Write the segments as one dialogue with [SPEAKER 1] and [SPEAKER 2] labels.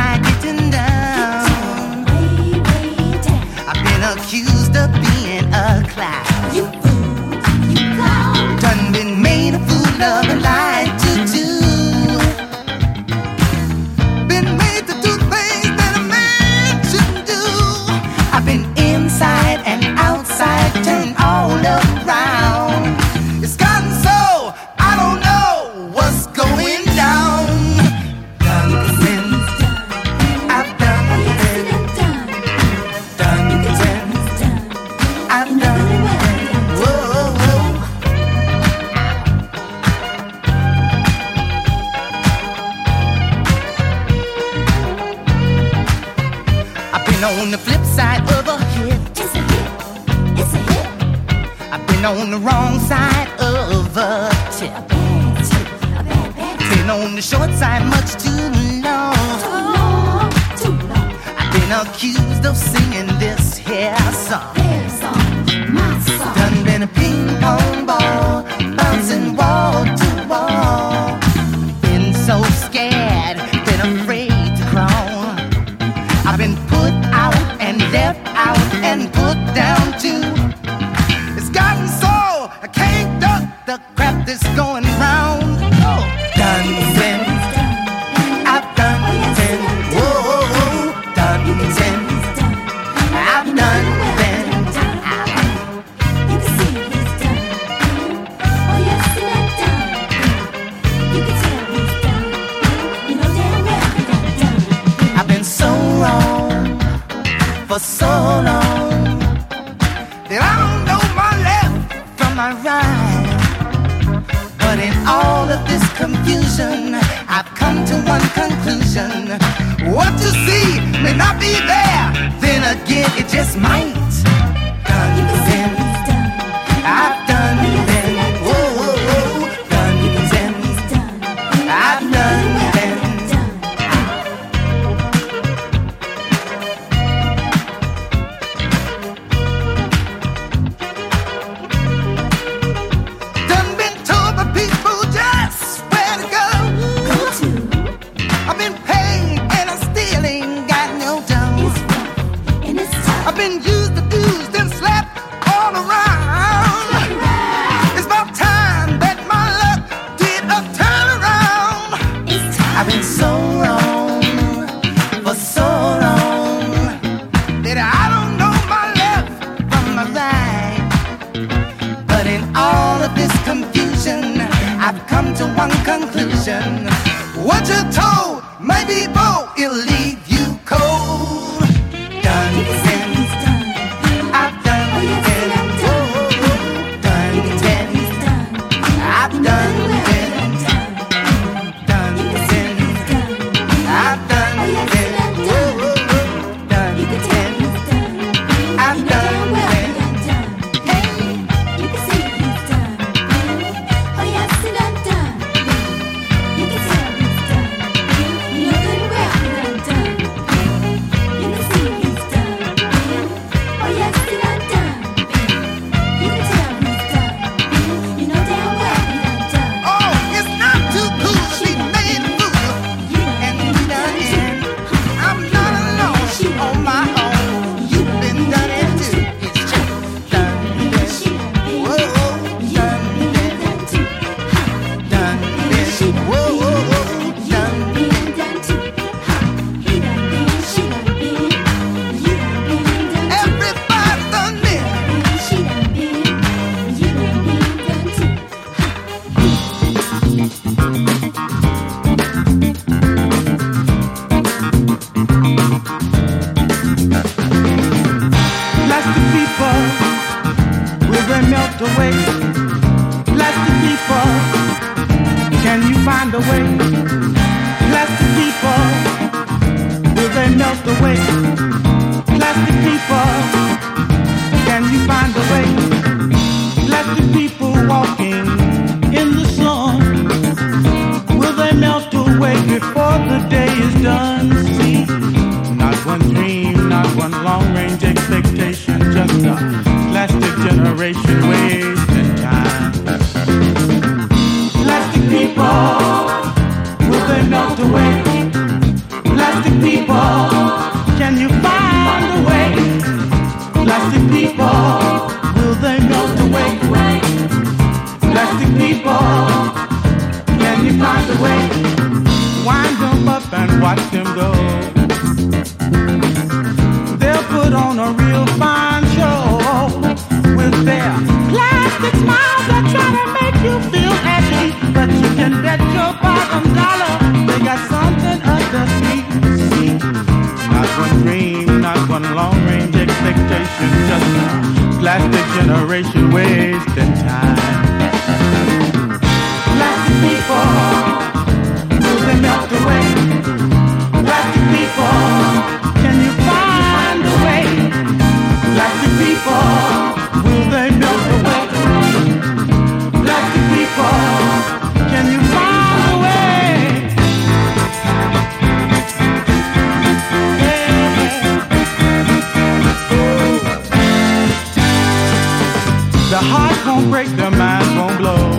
[SPEAKER 1] high, getting down.
[SPEAKER 2] Way, way down.
[SPEAKER 1] I've been accused of being a clown.
[SPEAKER 2] You fool, you clown.
[SPEAKER 1] Done been made a fool of and lied to do. Been made to do things that a man shouldn't do. I've been inside and outside, turned all around. It's gotten so I don't know what's going down. Done been, I've done been, done been, I've done been. Whoa, whoa. I've been on the flip side of a hit.
[SPEAKER 2] It's a hit, it's a hit.
[SPEAKER 1] I've been on the wrong side of a tip.
[SPEAKER 2] A bad tip, a bad, bad tip.
[SPEAKER 1] Been on the short side much too long.
[SPEAKER 2] Too long, too long.
[SPEAKER 1] I've been accused of singing this here song.
[SPEAKER 2] Their song, my song.
[SPEAKER 1] Done been a ping pong ball, bouncing wall to wall. Been so scared, been afraid to crawl. I've been put out and left out and put down too. It's gotten so I can't duck the crap that's going round. Oh, done been, I've done been, whoa, done been, I've done been.
[SPEAKER 2] You can see he's done. Oh yes, he done done. You can tell he's done. You know damn well he done done.
[SPEAKER 1] I've been so wrong for so long that I don't know my left from my right. But in all of this confusion, I've come to one conclusion. What you see may not be there, then again it just might. Done
[SPEAKER 2] You can see
[SPEAKER 1] been,
[SPEAKER 2] he's done.
[SPEAKER 1] I've done been, whoa, whoa, whoa. Done been,
[SPEAKER 2] He's done.
[SPEAKER 1] I've done been. Done been told by people just where to go.
[SPEAKER 2] Go to
[SPEAKER 1] I've been paid and I still ain't got no dough.
[SPEAKER 2] is rough and it's tough.
[SPEAKER 1] I've been used, abused, and slapped all around. It's about time that my luck did a turnaround.
[SPEAKER 2] It's time.
[SPEAKER 1] I've been so wrong for so long that I don't know my left from my right. But in all of this confusion, I've come to one conclusion. What you're told may be bold, it'll leave you cold. Done
[SPEAKER 2] You can see
[SPEAKER 1] been,
[SPEAKER 2] he's done.
[SPEAKER 1] I've done
[SPEAKER 2] Oh yes, he
[SPEAKER 1] been,
[SPEAKER 2] done done.
[SPEAKER 1] whoa, done
[SPEAKER 2] You can tell
[SPEAKER 1] been,
[SPEAKER 2] he's done.
[SPEAKER 1] I've
[SPEAKER 2] You know
[SPEAKER 1] done
[SPEAKER 2] damn well he
[SPEAKER 1] been,
[SPEAKER 2] done done.
[SPEAKER 1] done
[SPEAKER 2] You can see
[SPEAKER 1] been,
[SPEAKER 2] he's done.
[SPEAKER 1] I've done
[SPEAKER 2] Oh yes, he
[SPEAKER 1] been,
[SPEAKER 2] done done.
[SPEAKER 1] whoa, done
[SPEAKER 2] You can tell
[SPEAKER 1] been.
[SPEAKER 2] he's done.
[SPEAKER 1] I've
[SPEAKER 2] You know damn
[SPEAKER 1] done
[SPEAKER 2] well he
[SPEAKER 1] been.
[SPEAKER 2] done done. You can see he's done. Oh yes, he done done. You can tell he's done. You know good and well he done done. You can see he's done. Oh yes, he done done. You can tell he's done. You know damn well he done done.
[SPEAKER 1] Oh, it's not too cool to be made a fool
[SPEAKER 2] You
[SPEAKER 1] and
[SPEAKER 2] done
[SPEAKER 1] be done in. I'm not alone on my own. You've been done in too. It's true. Done been.
[SPEAKER 2] She done been.
[SPEAKER 1] Whoa,
[SPEAKER 2] You
[SPEAKER 1] done
[SPEAKER 2] been
[SPEAKER 1] been.
[SPEAKER 2] done too.
[SPEAKER 1] Done been. Whoa, done been.
[SPEAKER 2] Been done too. He done been. She done been. You done been done too.
[SPEAKER 1] Everybody done been.
[SPEAKER 2] She done been. You done been done too.
[SPEAKER 1] Plastic people, will they melt away? Plastic people, can you find a way? Plastic people, will they melt away? Plastic people, can you find a way? Plastic people walking in the sun, will they melt away before the day is done? See, not one dream, not one long-range expectation, just a plastic generation wasting time. Plastic people, will they melt away? Plastic people. people, can you find a way? Plastic people, will they melt away? Plastic people, can you find a way? Wind them up and watch them go. They'll put on a real fine show with their plastic smiles that try to make you feel at ease. But you can bet your bottom dollar they got something underneath. See, not one dream, not one long-range expectation, just a plastic generation wasting time. Plastic people, will they melt away? Plastic people, can you find a way? Plastic people, will they melt away? Plastic people, can you find a way? The heart won't break, the mind won't blow.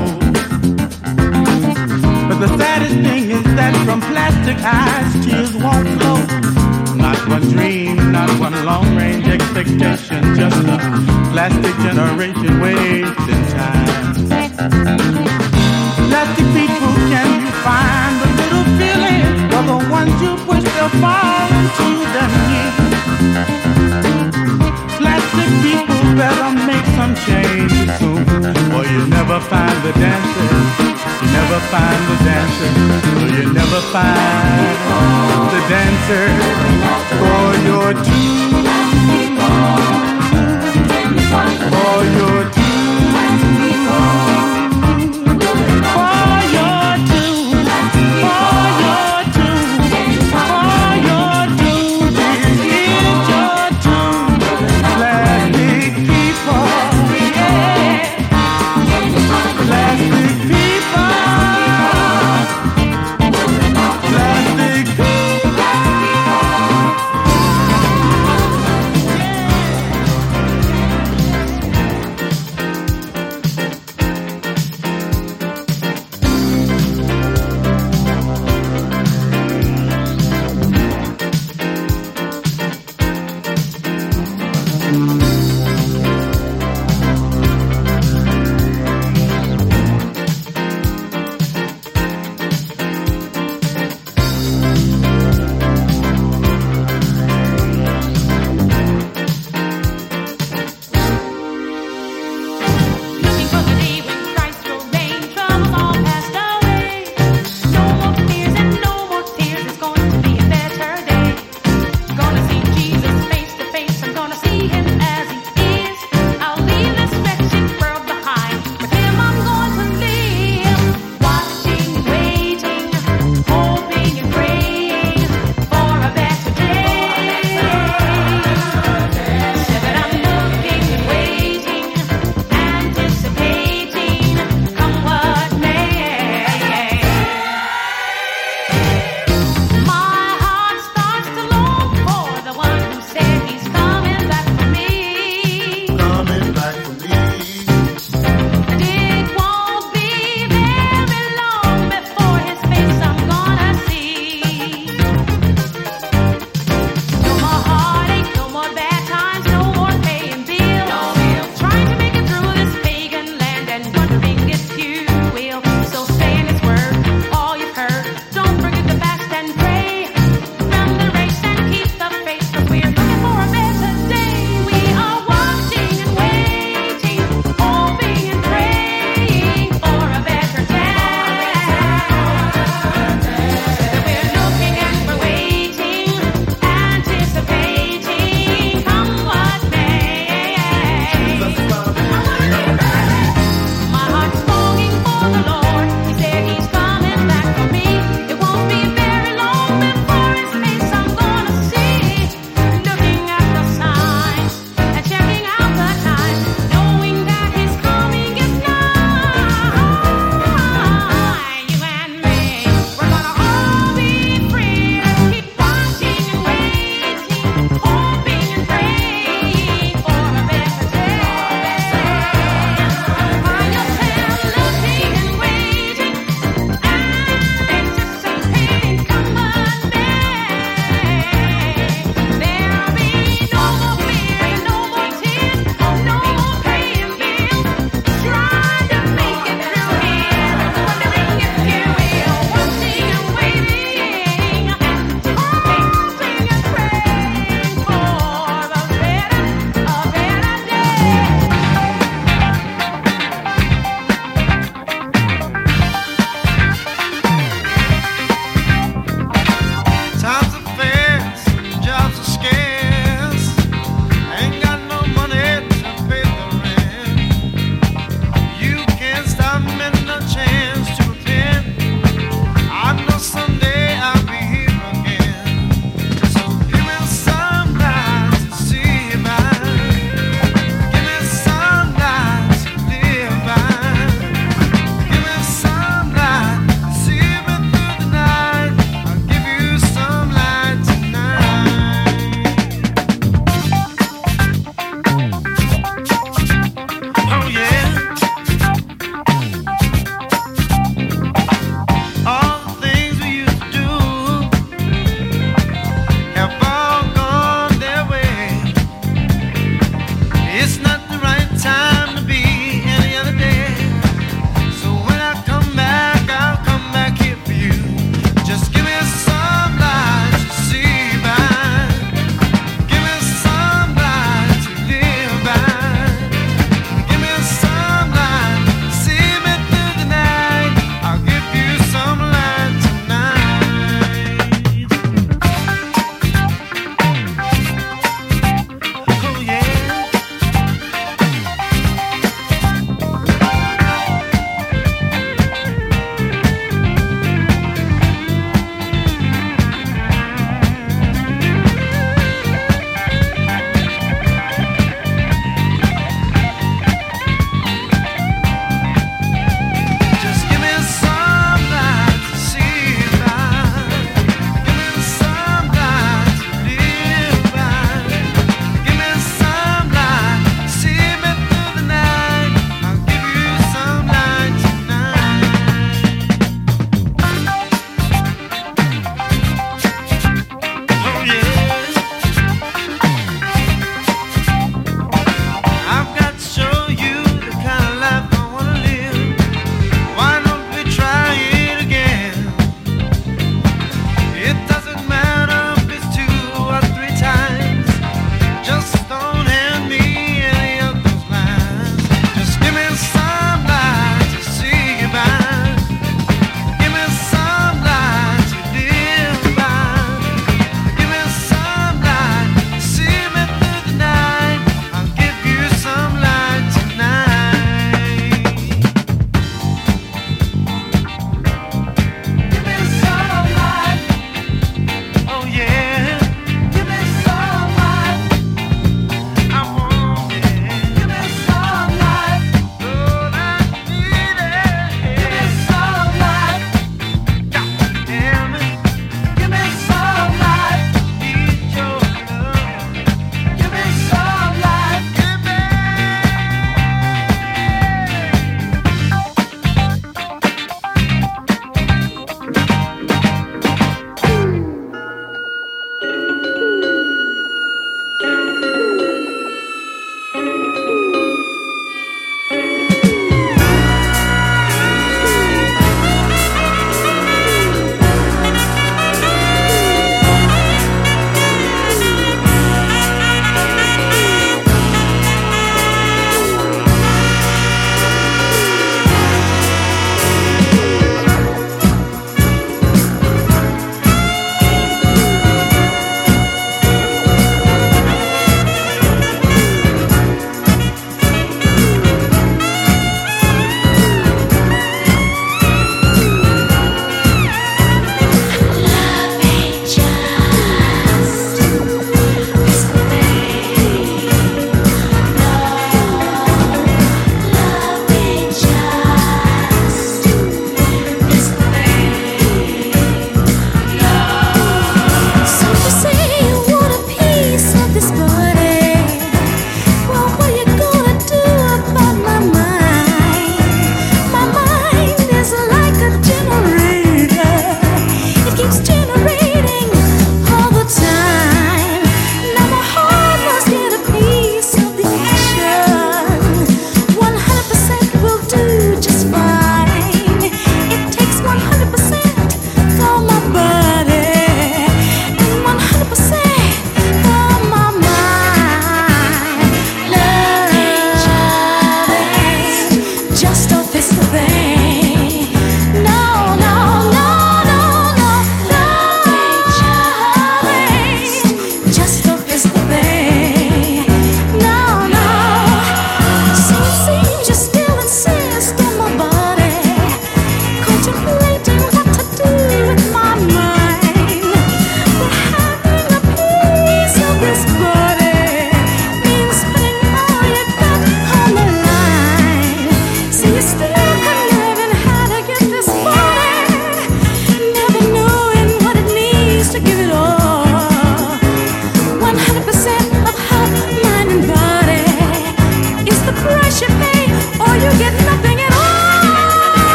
[SPEAKER 1] But the saddest thing is that from plastic eyes, tears won't flow. Not one dream, not one long-range expectation, just a plastic generation wasting time. Plastic people, can you find a little feeling for the ones you push to fall into their knees? Plastic people better make some change soon, or you never find the dancers. You never find the dancers, or you never find the dancers for your tune, for your tune, for your tune, for your tune, for your tune. This is your tune. Plastic people, yeah. Plastic people, plastic people.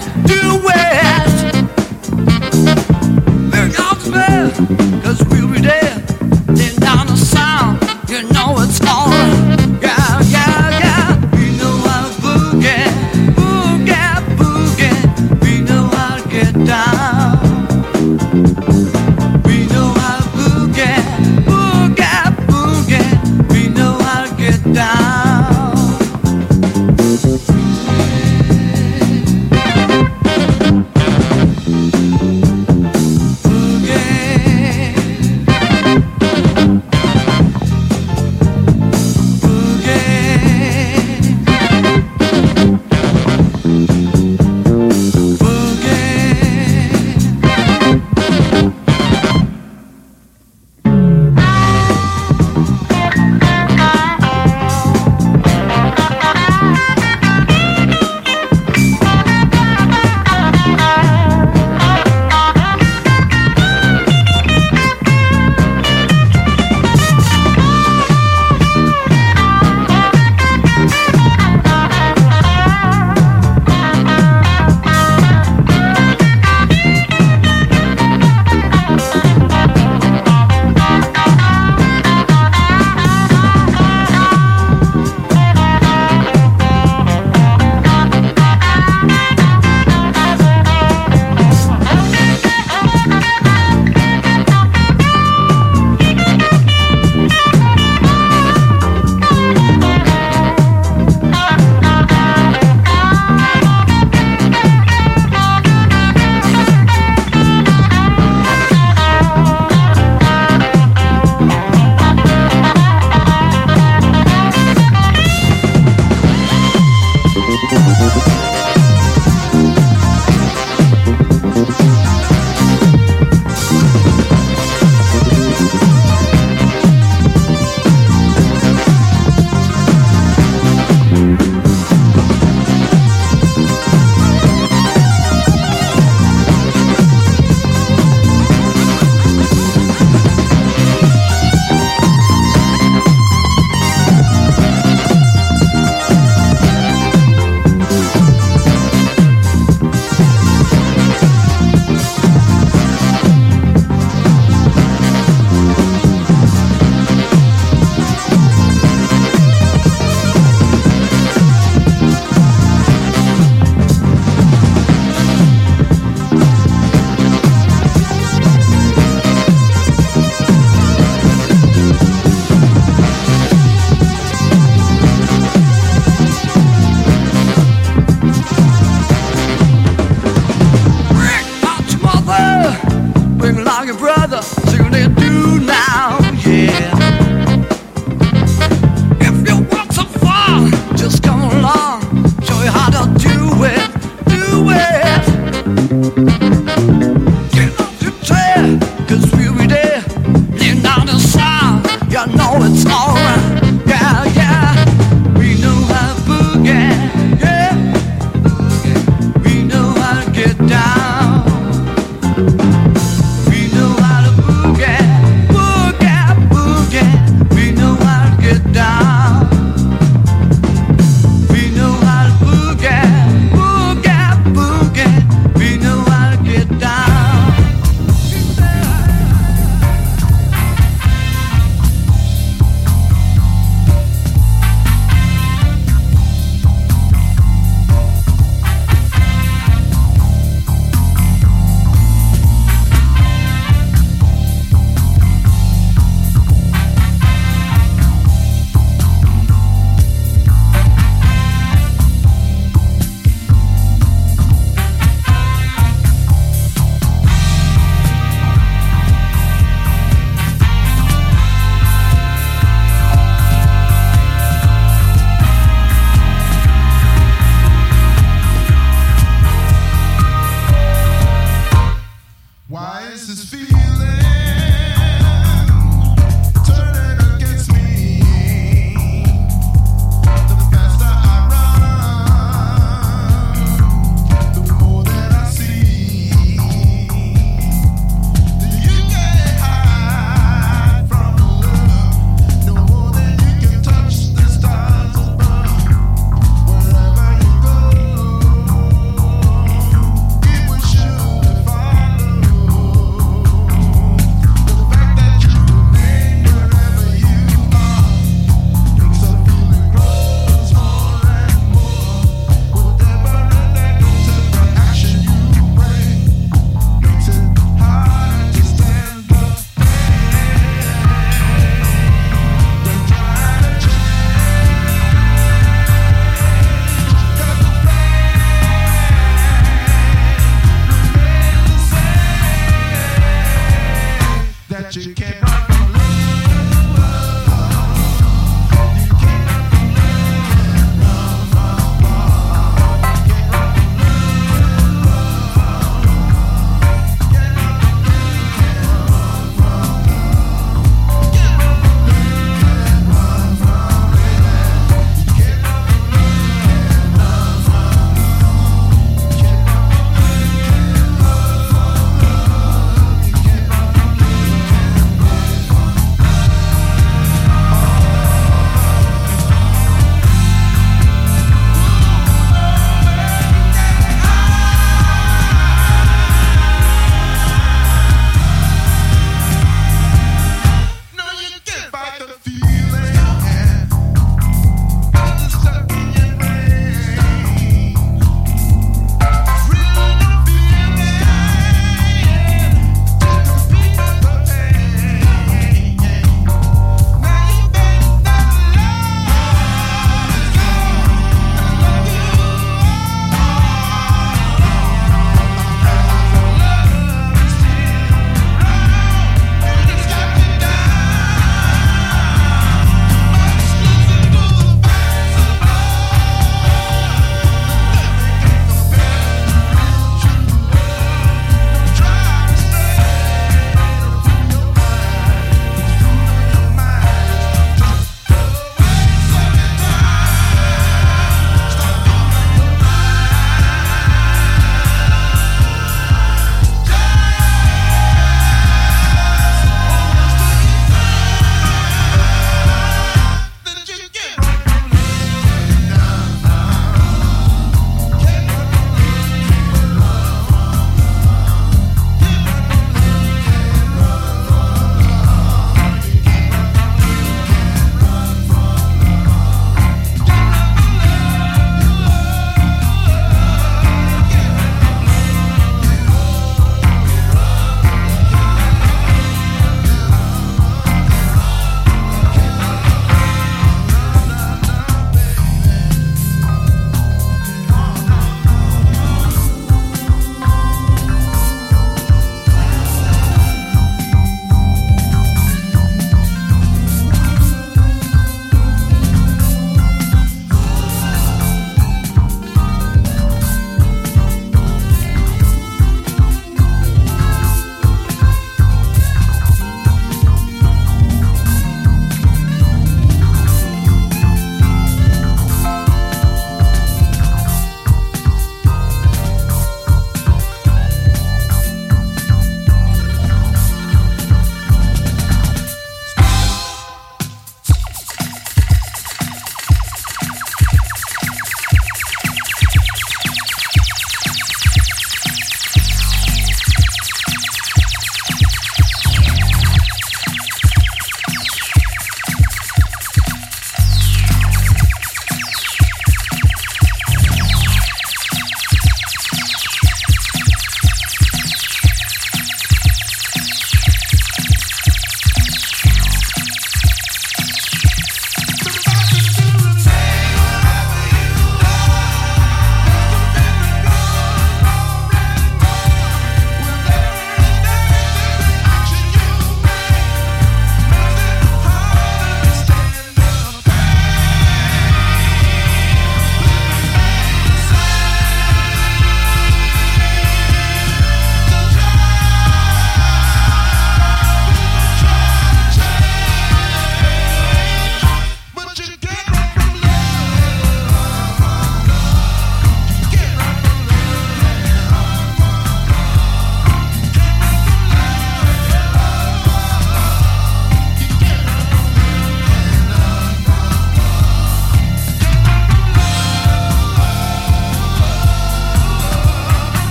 [SPEAKER 3] west to west. We're out to bed, 'cause we'll be dead. Then down the sound, you know it's alright. Yeah, yeah, yeah. We know how to boogie, boogie, boogie. We know how to get down. We know how to boogie, boogie, boogie. We know how to get down.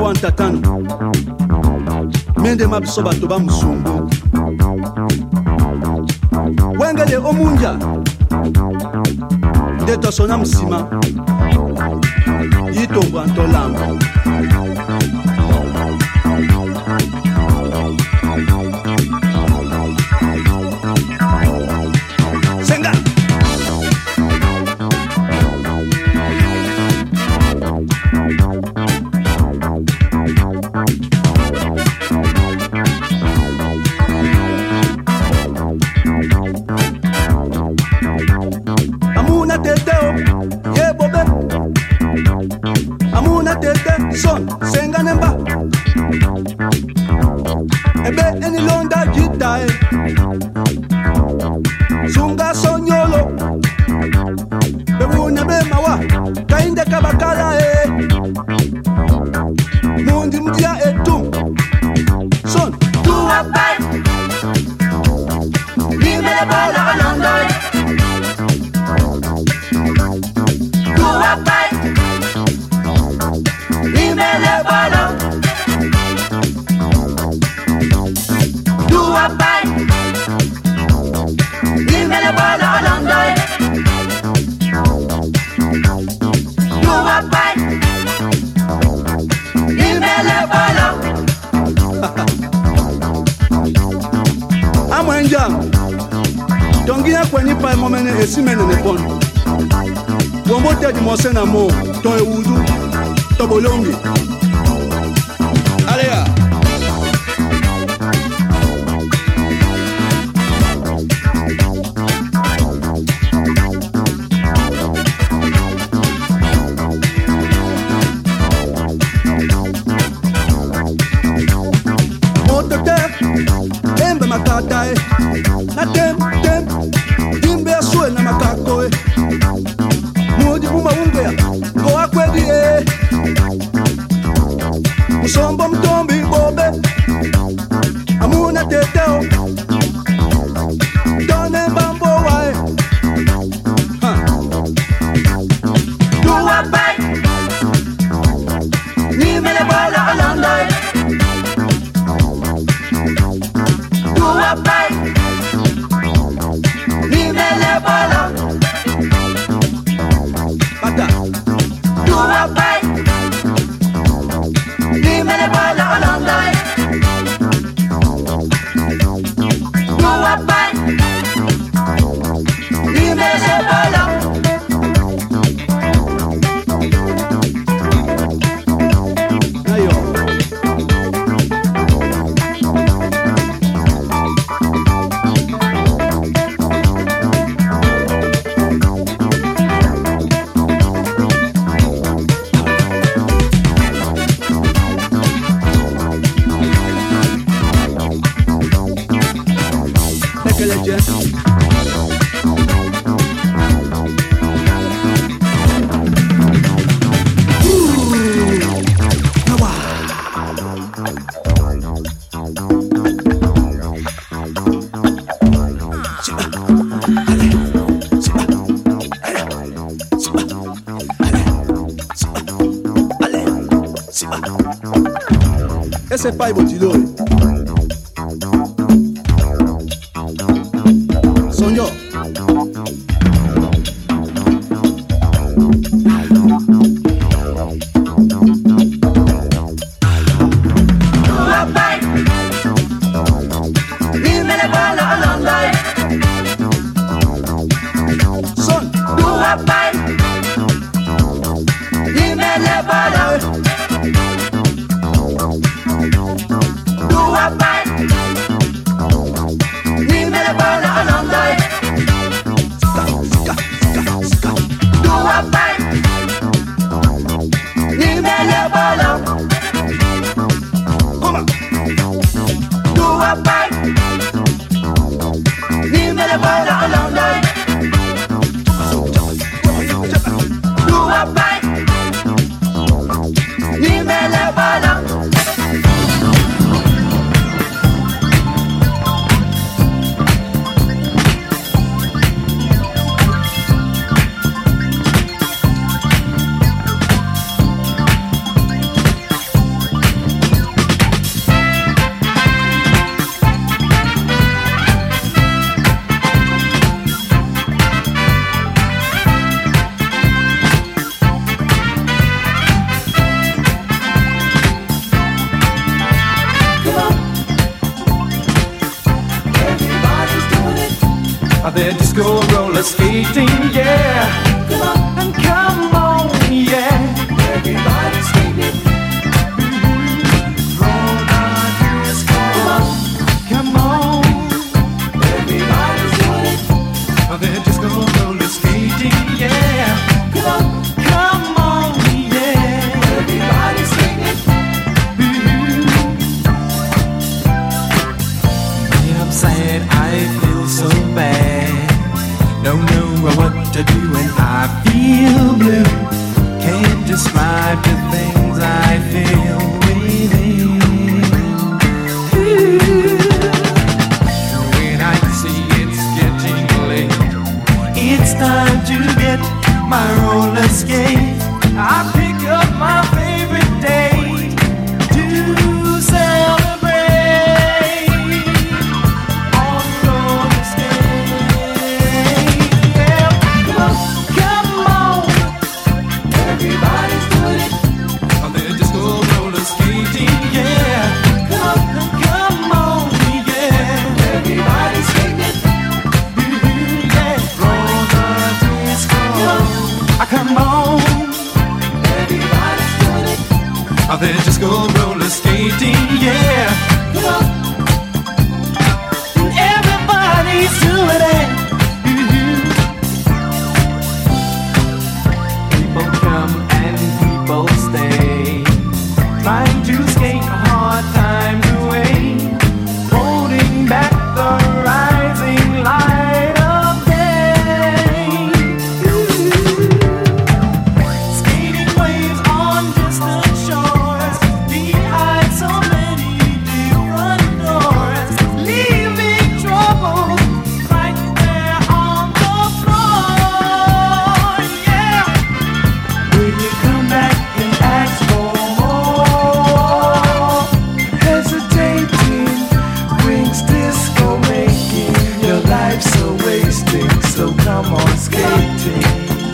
[SPEAKER 4] ntatano mende mabiso bato bamusumbu wengele omunja nde tosona musima yitombwa ntolamba senga amuna teteo ye bobe amuna tete son senga nemba ebe eni londa jitae sunga sonyolo bebuna be mawa kainde kabakala mundi mudia etum son tu abai limele bala alondoi tu abai limele bala tu abai limele bala alondoi tu abai limele bala amwenja tongia kwenye pa momene esimene ne pon wombo te di mosena mo to ewudu to bolongi alea makatae na tem dimbe asue na makako mudi muma ungea go akwedi musombo mtombi bobe amuna teteo done bambo wae tuwa bai ni mele bala alondai Bye. Limele bala Bata Dua bai Limele bala alondai Dua bai Limele bala Esse pai botiloi Sonho Son Dua bai Limele bala Dua bai Limele bala alondai
[SPEAKER 3] They're disco roller skating, yeah. Come on, and come on, yeah. Everybody's skating. Roller disco. Come on, everybody's doing it. They're disco roller skating, yeah. Come on, yeah. Everybody's skating. Yeah, I'm sad, I feel so bad. Don't know what to do and I feel blue. Can't describe the things I feel within. When I see it's getting late, it's time to get my roller skate. I pick up my favorite date to celebrate on roller skate. Yeah, come on, everybody's doing it. They're disco roller skating, yeah. Come on, yeah. Everybody's skating it. Yeah, roller disco. Come on, everybody's doing it. They're disco roller skating, yeah. Everybody's doing it. People come and people stay, trying to skate hard times away, holding back the rising light of day. Skating waves on distant shores, behind so many different doors, leaving trouble right there on the floor. Yeah. When you come back and ask for more, hesitating brings disco making your life so wasting. So come on skating.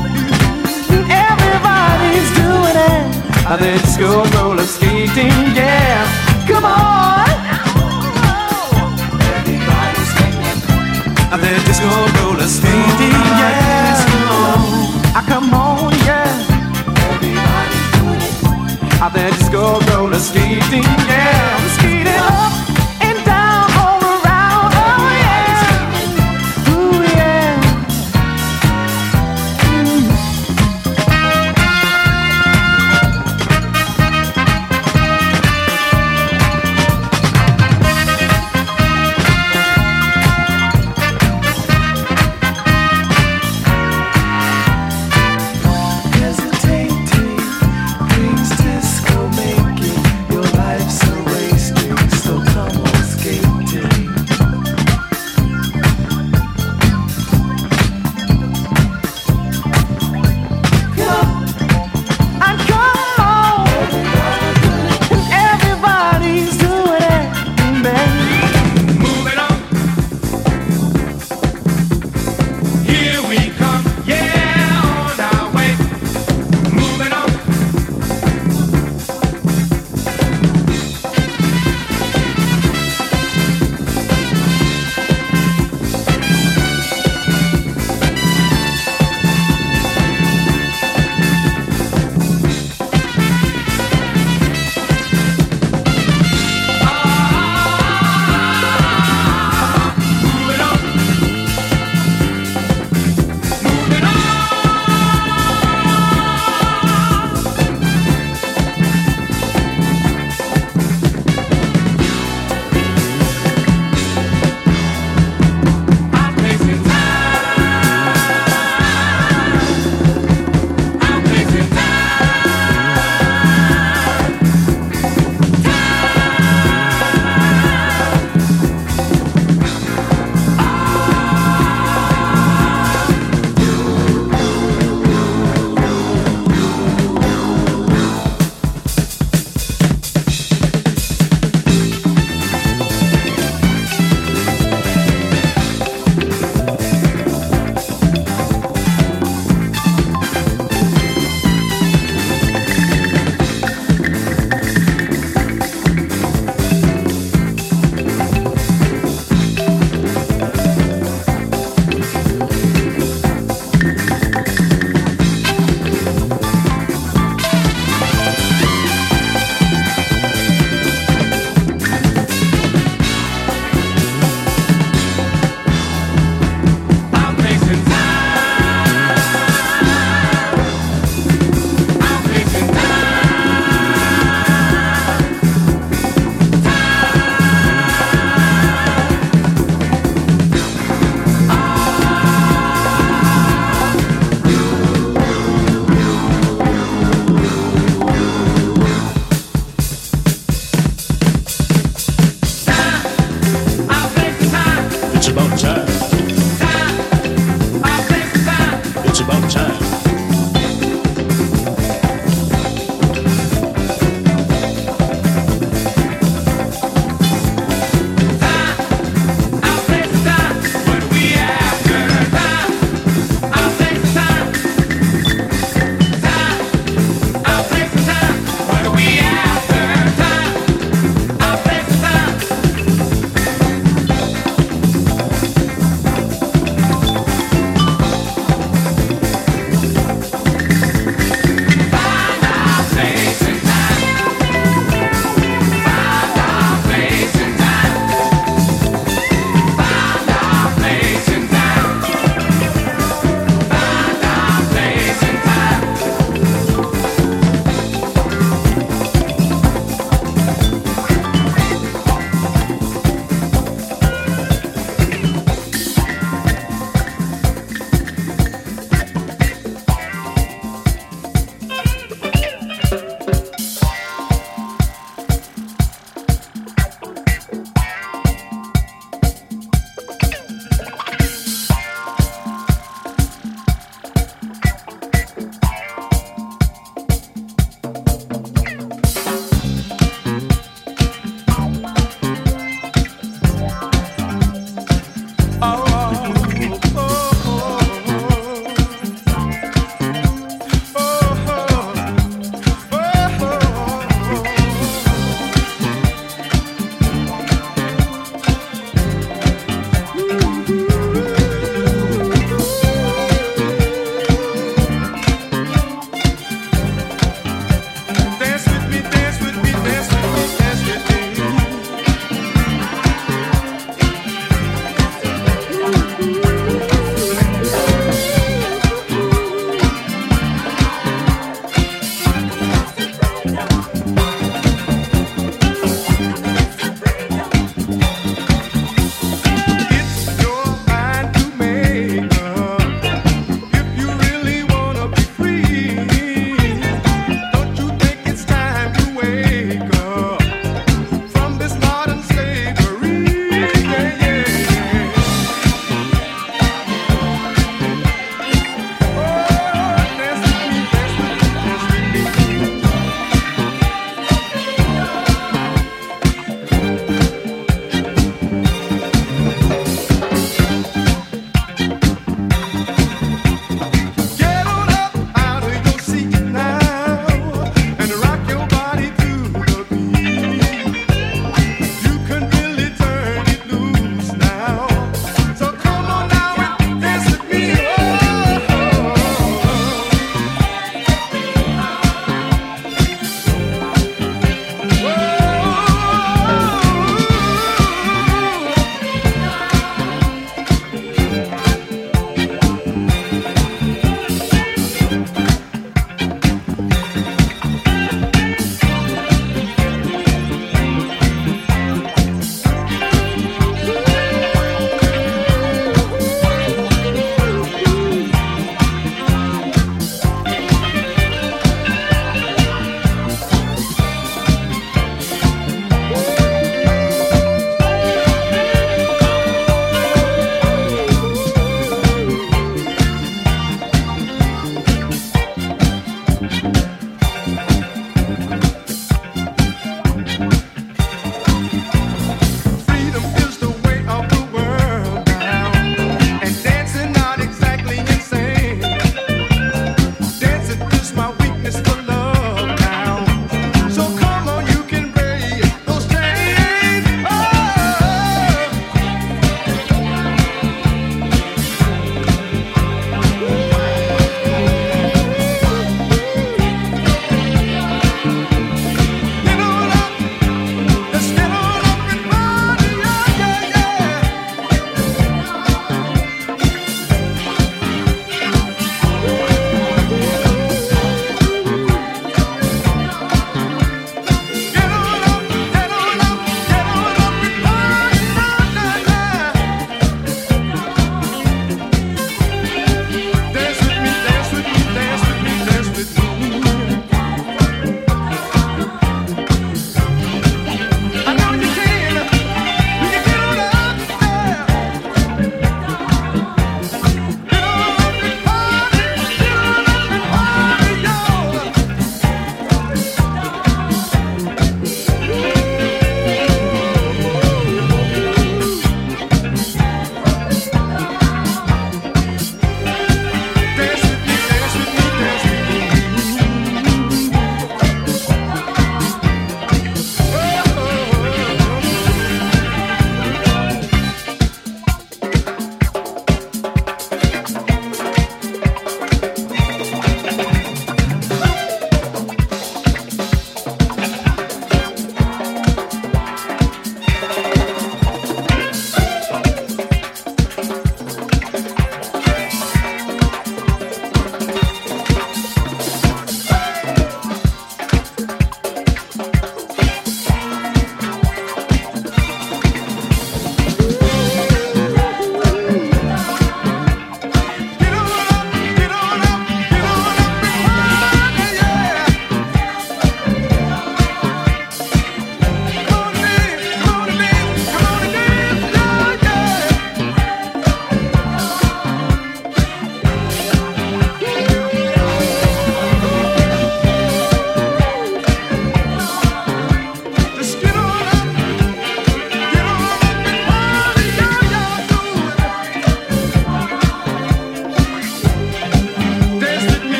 [SPEAKER 3] Everybody's doing it. They're disco roller skating, yeah. Come on. Everybody's skating. They're disco roller skating.